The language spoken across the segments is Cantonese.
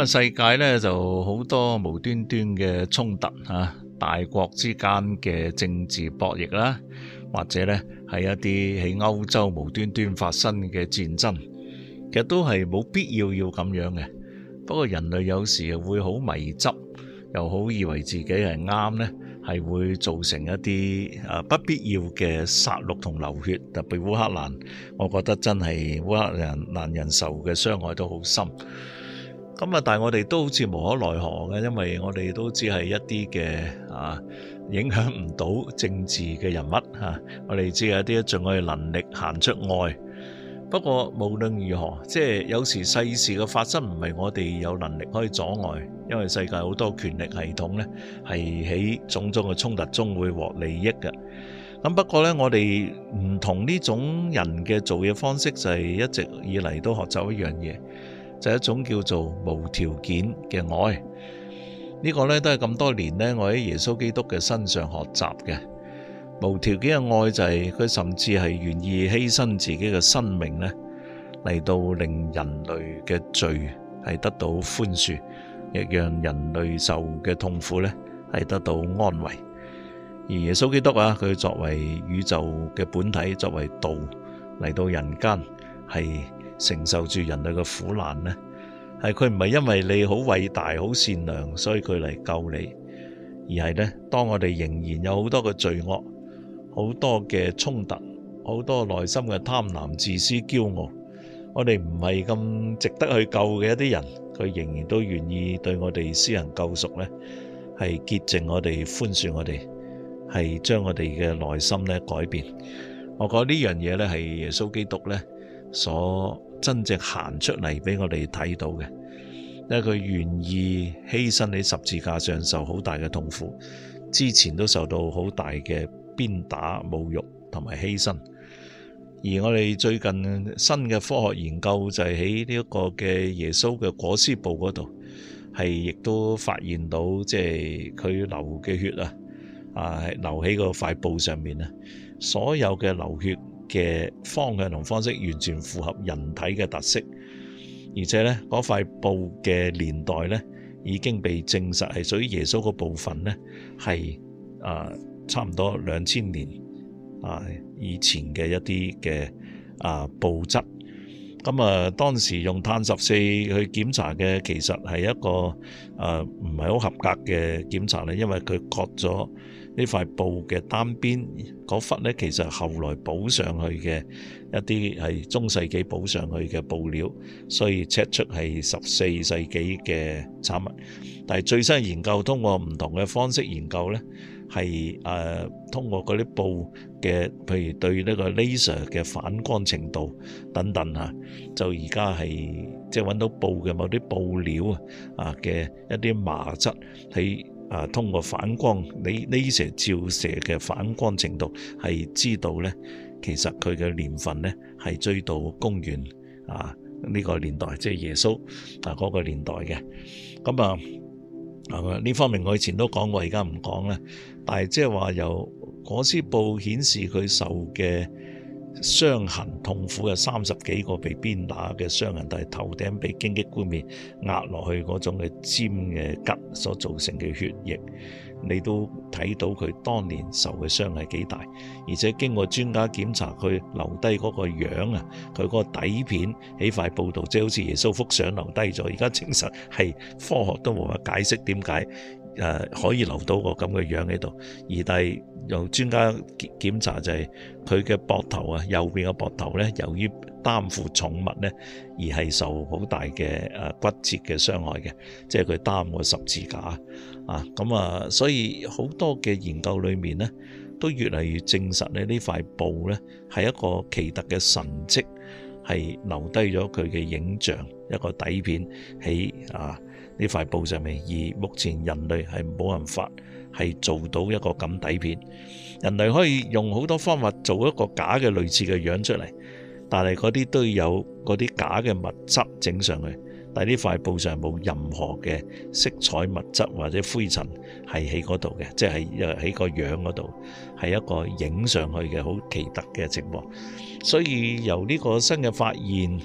世界呢就好多無端端嘅衝突啊，大國之間嘅政治博弈啦，或者呢係一啲喺歐洲無端端發生嘅戰爭，其實都係冇必要咁樣嘅。不過人類有時又會好迷執，又好以為自己係啱呢，係會造成一啲不必要嘅殺戮同流血。特別烏克蘭，我覺得真係烏克蘭人受嘅傷害都好深。咁但係我哋都好似無可奈何嘅，因為我哋都只係一啲嘅影響唔到政治嘅人物我哋只係一啲盡我哋能力行出愛。不過無論如何，即係有時世事嘅發生唔係我哋有能力可以阻礙，因為世界好多權力系統呢係喺種種嘅衝突中會獲利益嘅。咁不過呢，我哋唔同呢種人嘅做嘢方式，就係一直以嚟都學習一樣嘢，就係一種叫做無條件嘅愛。呢個呢都係咁多年呢，我喺耶穌基督嘅身上學習嘅。無條件嘅愛就係佢甚至係願意犧牲自己嘅生命呢，嚟到令人類嘅罪係得到寬恕，亦讓人類受嘅痛苦呢係得到安慰。而耶穌基督佢作為宇宙嘅本體，作為道嚟到人間，係承受住人類嘅苦難呢，係佢唔係因為你好偉大好善良，所以佢嚟救你，而係呢，當我哋仍然有好多嘅罪惡，好多嘅衝突，好多內心嘅貪婪、自私、驕傲，我哋唔係咁值得去救嘅一啲人，佢仍然都願意對我哋施行救贖呢，係潔淨我哋、寬恕我哋，係將我哋嘅內心呢改變。我覺得呢樣嘢呢係耶穌基督呢所真正行出嚟俾我哋睇到嘅，因為佢願意犧牲喺十字架上受好大嘅痛苦，之前都受到好大嘅鞭打、侮辱同埋犧牲。而我哋最近新嘅科學研究就係喺呢一個嘅耶穌嘅裹屍布嗰度，係亦都發現到即係佢流嘅血流喺個塊布上面所有嘅流血嘅方向同方式完全符合人體嘅特色，而且呢，嗰塊布嘅年代呢已經被證實係屬於耶穌嗰部分呢係差唔多2000年以前嘅一啲嘅布質。咁當時用碳14去檢查嘅，其實係一個唔係好合格嘅檢查咧，因為佢割咗呢塊布嘅單邊嗰忽呢，其實後來補上去嘅一啲係中世紀補上去嘅布料，所以 check 出係14世紀嘅產物。但係最新研究通過唔同嘅方式研究呢，係通過嗰啲布嘅，譬如對呢個 laser 嘅反光程度等等就而家係即係揾到布嘅某啲布料嘅一啲麻質喺通過反光laser照射嘅反光程度係知道呢，其實佢嘅年份呢係追到公元呢個年代，即係耶穌嗰個年代嘅。咁呢方面我以前都講過，而家唔講啦。但係即係話由裹屍布顯示佢受嘅傷痕痛苦嘅30幾個被鞭打嘅傷痕，但係頭頂被荊棘冠冕壓落去嗰種嘅尖嘅吉所造成嘅血液，你都睇到佢當年受嘅傷係幾大。而且經過專家檢查，佢留低嗰個樣佢嗰個底片喺塊布度，即係好似耶穌幅相留低咗。而家證實係科學都冇法解釋點解可以留到個咁嘅樣喺度。但係由專家檢查就係佢嘅膊頭右邊嘅膊頭呢，由於擔負重物呢，而係受好大嘅骨折嘅傷害嘅，即係佢擔個十字架所以好多嘅研究裏面呢，都越嚟越證實呢塊布呢係一個奇特嘅神蹟，係留低咗佢嘅影像，一個底片喺呢塊布上面。而目前人類係冇辦法係做到一個咁底片，人類可以用好多方法做一個假嘅類似嘅樣出嚟，但係嗰啲都有嗰啲假嘅物質整上去。但係呢塊布上冇任何嘅色彩物質或者灰塵係喺嗰度嘅，即係喺個樣嗰度係一個影上去嘅好奇特嘅情況。所以由呢個新嘅發現，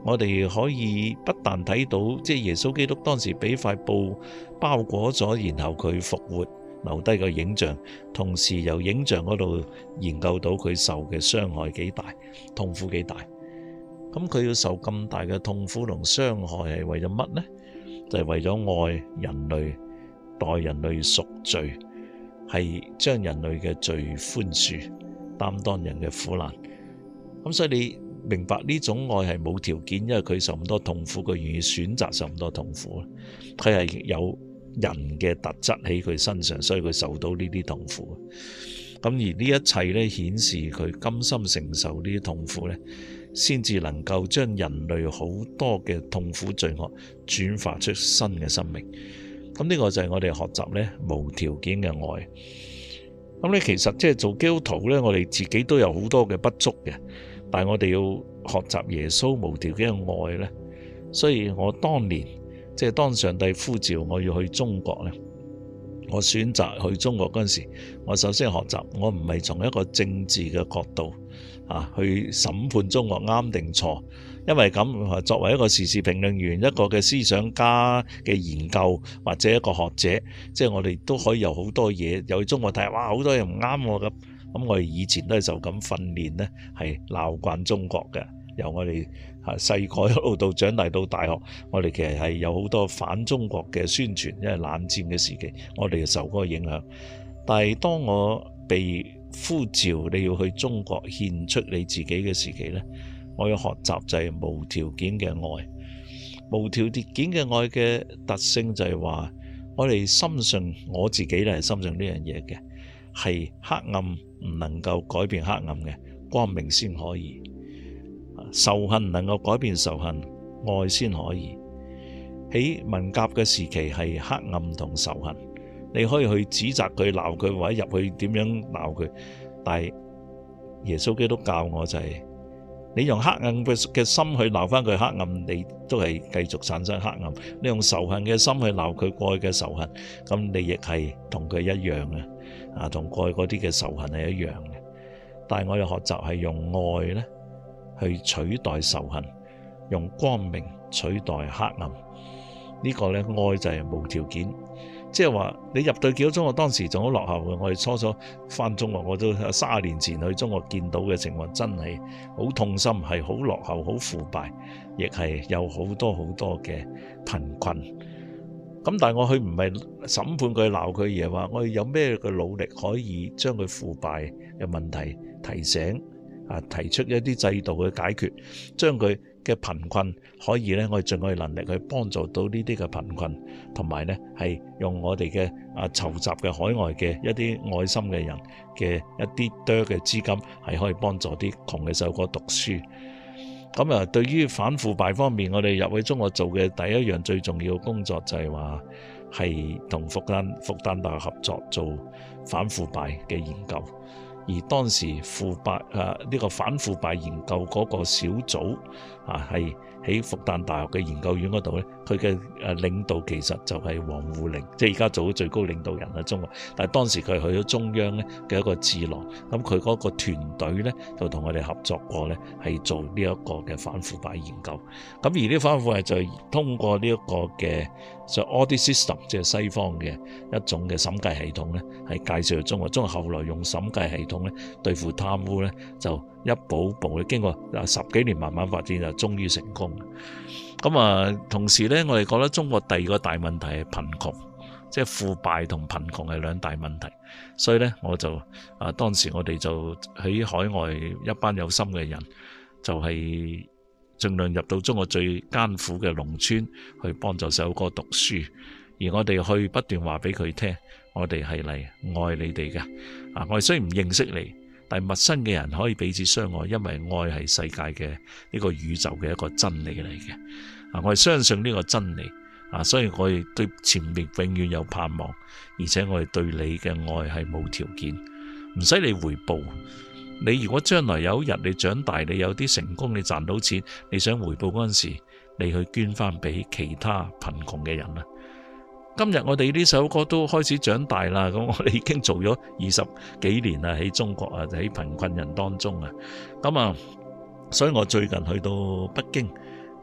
我哋可以不但睇到即係耶穌基督當時俾塊布包裹咗，然後佢復活留低個影像，同時由影像嗰度研究到佢受嘅傷害幾大，痛苦幾大。咁佢要受咁大嘅痛苦同傷害係為咗乜呢？就係為咗愛人類，代人類贖罪，係將人類嘅罪寬恕，擔當人嘅苦難。咁所以你明白呢種愛係冇條件，因為佢受咁多痛苦，佢願意選擇受咁多痛苦。佢係有人嘅特質喺佢身上，所以佢受到呢啲痛苦。咁而呢一切呢，顯示佢甘心承受呢啲痛苦呢，先至能夠將人類好多嘅痛苦罪惡轉化出新嘅生命。咁呢個就係我哋學習呢無條件嘅愛。咁呢其實即係做基督徒呢，我哋自己都有好多嘅不足嘅，但係我哋要學習耶穌無條件嘅愛呢。所以我當年即係當上帝呼召我要去中國呢，我選擇去中國嗰陣時，我首先學習，我唔係從一個政治嘅角度去審判中國啱定錯，因為咁作為一個時事評論員，一個嘅思想家嘅研究或者一個學者，即係我哋都可以有好多嘢，又去中國睇，哇好多嘢唔啱我咁。咁我哋以前都係就咁訓練呢，係鬧慣中國嘅。由我哋細個一路到長大到大學，我哋其實係有好多反中國嘅宣傳，因為冷戰嘅時期，我哋就受嗰個影響。但係當我被呼召你要去中國獻出你自己嘅時期呢，我要學習就係無條件嘅愛。無條件嘅愛嘅特性就係話，我哋深信，我自己咧係深信呢樣嘢嘅，係黑暗唔能夠改變黑暗嘅，光明先可以。仇恨唔能夠改變仇恨，愛先可以。喺文革嘅時期係黑暗同仇恨，你可以去指責佢、鬧佢，或者入去點樣鬧佢，但係耶穌基督教我就係，你用黑暗嘅心去鬧翻佢黑暗，你都係繼續產生黑暗；你用仇恨嘅心去鬧佢過去嘅仇恨，咁你亦係同佢一樣嘅，同過去嗰啲嘅仇恨係一樣嘅。但係我哋學習係用愛呢去取代仇恨，用光明取代黑暗。呢個呢，愛就係無條件，即係話你入到幾多中國，當時仲好落後嘅。我哋初初返中國，我都30年前去中國見到嘅情況，真係好痛心，係好落後、好腐敗，亦係有好多好多嘅貧困。咁但係我去唔係審判佢、鬧佢，而係話我哋有咩嘅努力可以將佢腐敗嘅問題提醒。提出一啲制度嘅解決，將佢嘅貧困可以呢，我哋盡我哋能力去幫助到呢啲嘅貧困，同埋呢係用我哋嘅籌集嘅海外嘅一啲愛心嘅人嘅一啲多嘅資金，係可以幫助啲窮嘅細路哥讀書。咁啊，對於反腐敗方面，我哋入去中國做嘅第一樣最重要嘅工作就係話係同復旦大學合作做反腐敗嘅研究。而當時腐敗呢個反腐敗研究嗰個小組係喺復旦大學嘅研究院嗰度呢，佢嘅領導其實就係王滬寧，即係而家做咗最高領導人喺中國。但係當時佢去咗中央呢嘅一個智囊，咁佢嗰個團隊呢就同我哋合作過呢，係做呢一個嘅反腐敗研究。咁而呢反腐敗就係通過呢一個嘅就 audit system， 即係西方嘅一種嘅審計系統呢，係介紹中國。中國後來用審計系統呢對付貪污呢，就一步一步經過10幾年慢慢發展，就終於成功。咁同時呢，我哋覺得中國第二個大問題係貧窮，即係腐敗同貧窮係兩大問題。所以呢，我就當時我哋就喺海外一班有心嘅人，就係盡量入到中國最艱苦嘅農村去幫助細路哥讀書，而我哋去不斷話俾佢聽，我哋係嚟愛你哋嘅。我哋雖然唔認識你，但係陌生嘅人可以彼此相愛，因為愛係世界嘅呢個宇宙嘅一個真理嚟嘅。我哋相信呢個真理，所以我哋對前面永遠有盼望，而且我哋對你嘅愛係冇條件，唔使你回報。你如果將來有一日你長大，你有啲成功，你賺到錢，你想回報嗰陣時，你去捐翻俾其他貧窮嘅人啦。今日我哋呢首歌都開始長大啦，咁我哋已經做咗20幾年啦，喺中國啊，喺貧困人當中啊，咁所以我最近去到北京，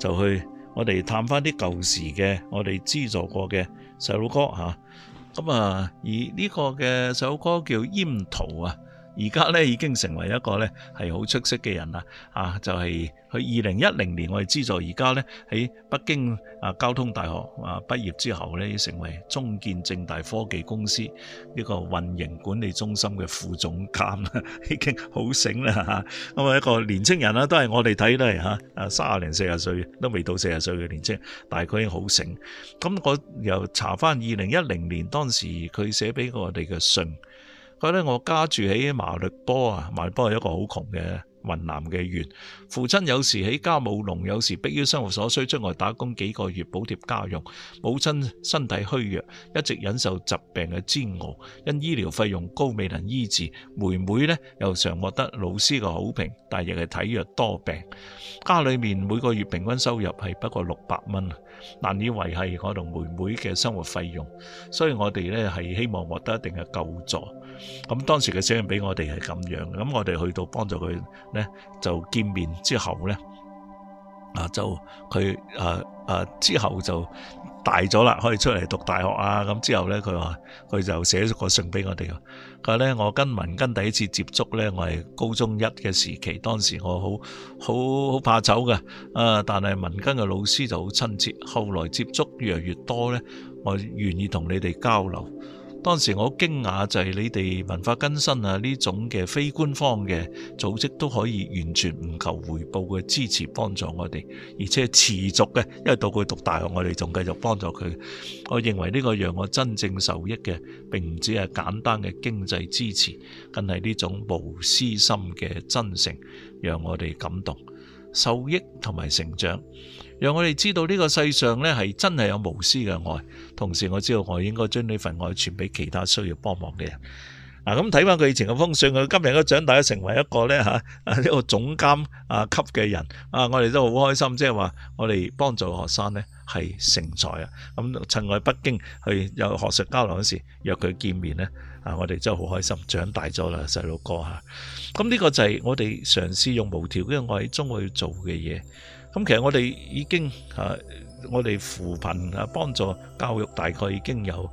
就去我哋探翻啲舊時嘅我哋資助過嘅細路哥嚇。咁而呢個嘅細路哥叫閹圖啊，而家咧已經成為一個咧係好出色嘅人啦。就係佢2010年我哋資助，而家咧喺北京交通大學畢業之後咧，成為中建正大科技公司呢個運營管理中心嘅副總監啦，已經好醒啦嚇。咁一個年青人啦，都係我哋睇都係嚇30零40歲都未到40歲嘅年青人，但係佢已經好醒。咁我又查翻2010年當時佢寫俾我哋嘅信，佢咧我家住喺馬律波啊，馬律波係一個好窮嘅雲南嘅縣，父親有時喺家務農，有時迫於生活所需出外打工幾個月補貼家用。母親身體虛弱，一直忍受疾病嘅煎熬，因醫療費用高未能醫治。妹妹呢又常獲得老師嘅好評，但亦係體弱多病。家裏面每個月平均收入係不過600蚊，難以維繫我同妹妹嘅生活費用，所以我哋呢係希望獲得一定嘅救助。咁當時嘅寫信俾我哋係咁樣，咁我哋去到幫助佢呢，就見面之後呢，就佢之後就大咗啦，可以出嚟讀大學啊。咁之後呢，佢話佢就寫咗個信俾我哋。佢話呢，我跟文根第一次接觸呢，我係高中1嘅時期，當時我好怕醜嘅，但係文根嘅老師就好親切。後來接觸越嚟越多呢，我願意同你哋交流。當時我好驚訝就係你哋文化更新呢種嘅非官方嘅組織都可以完全唔求回報嘅支持幫助我哋，而且持續嘅，因為到佢讀大學我哋仲繼續幫助佢。我認為呢個讓我真正受益嘅並唔止係簡單嘅經濟支持，更係呢種無私心嘅真誠讓我哋感動、受益同埋成長，讓我哋知道呢個世上呢係真係有無私嘅愛。同時我知道我應該將呢份愛傳俾其他需要幫忙嘅人。咁睇翻佢以前嘅封信，佢今日都長大咗成為一個呢一個總監級嘅人。我哋都好開心，即係話我哋幫助學生呢係成才啊！咁趁我喺北京去有學術交流嗰時約佢見面呢，我哋真係好開心，長大咗啦細路哥嚇。咁呢個就係我哋嘗試用無條件嘅愛中去做嘅嘢。咁其實我哋已經我哋扶貧幫助教育大概已經有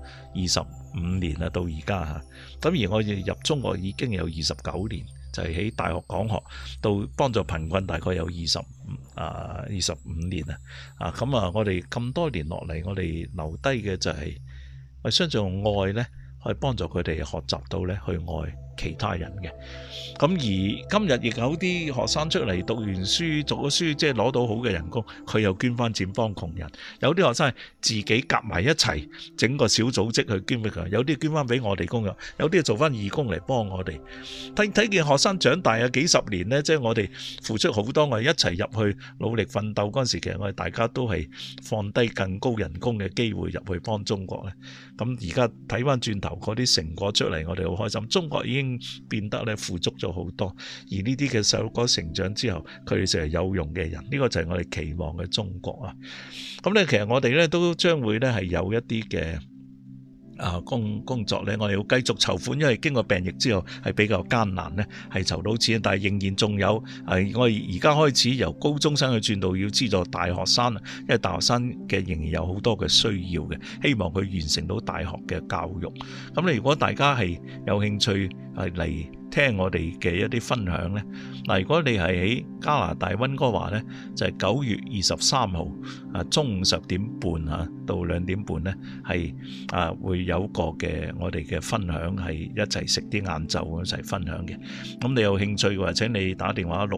25年啦，到而家嚇。咁而我哋入中國已經有29年，就係喺大學講學到幫助貧困大概有25年啊。咁我哋咁多年落嚟，我哋留低嘅就係我相信用愛呢，可以幫助佢哋學習到呢去愛其他人嘅。咁而今日亦有啲學生出嚟讀完書讀咗書，即係攞到好嘅人工，佢又捐翻錢幫窮人。有啲學生係自己夾埋一齊整個小組織去捐俾佢，有啲捐翻俾我哋工作，有啲做翻義工嚟幫我哋。睇見學生長大幾十年呢，即係我哋付出好多，我哋一齊入去努力奮鬥嗰陣時，其實我哋大家都係放低更高人工嘅機會入去幫中國咧。咁而家睇翻轉頭嗰啲成果出嚟，我哋好開心。中國已經變得咧富足咗好多，而呢啲嘅細路哥成長之後，佢哋就係有用嘅人，呢個就係我哋期望嘅中國啊！咁咧，其實我哋咧都將會咧係有一啲嘅工作咧，我哋要繼續籌款，因為經過病疫之後係比較艱難咧，係籌到錢，但係仍然仲有我哋而家開始由高中生去轉到要資助大學生，因為大學生嘅仍然有好多嘅需要嘅，希望佢完成到大學嘅教育。咁你如果大家係有興趣嚟聽我哋嘅一啲分享呢，如果你係喺加拿大溫哥華呢，就係9月23號中午10點半到2點半呢，係會有個嘅我哋嘅分享，係一齊食啲晏晝一齊分享嘅。咁你有興趣嘅話，請你打電話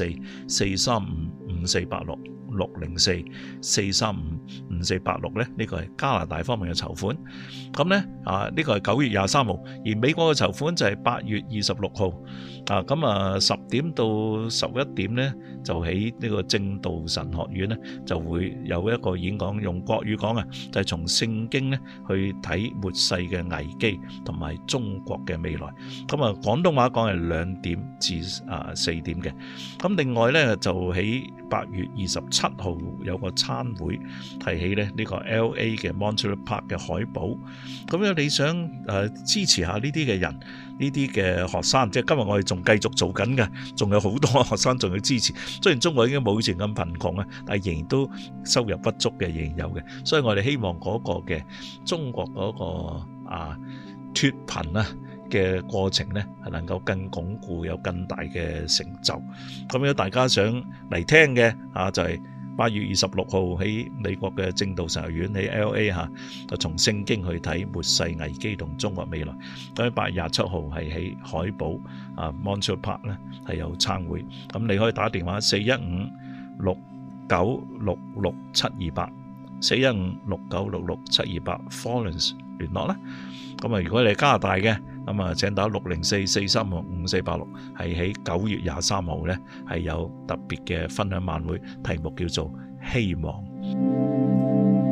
604-435-5486。604-435-5486咧，呢個係加拿大方面嘅籌款。咁呢呢個係9月23號，而美國嘅籌款就係8月26號。咁10點到11點呢，就喺呢個正道神學院呢，就會有一個演講，用國語講就係從聖經呢去睇末世嘅危機同埋中國嘅未來。咁廣東話講係2點至4點嘅。咁另外呢，就喺8月27 7號有個餐會，提起咧呢個 LA 嘅 Monterey Park 嘅海保。咁樣你想支持下呢啲嘅人，呢啲嘅學生，即係今日我哋仲繼續做緊嘅，仲有好多學生仲要支持。雖然中國已經冇以前咁貧窮啊，但係仍然都收入不足嘅，仍然有嘅。所以我哋希望嗰個嘅中國嗰個脫貧啊嘅過程呢，係能夠更鞏固，有更大嘅成就。咁如果大家想嚟聽嘅就係8月26號喺美國嘅正道神學院喺 LA 就從聖經去睇末世危機同中國未來。咁8月27號係喺海保Monterey Park 呢係有餐會。咁你可以打電話41569666728 4156966728 Florence 聯絡啦。咁如果你係加拿大嘅，咁請打604-435-5486，係喺9月23號呢係有特別嘅分享晚會，題目叫做希望。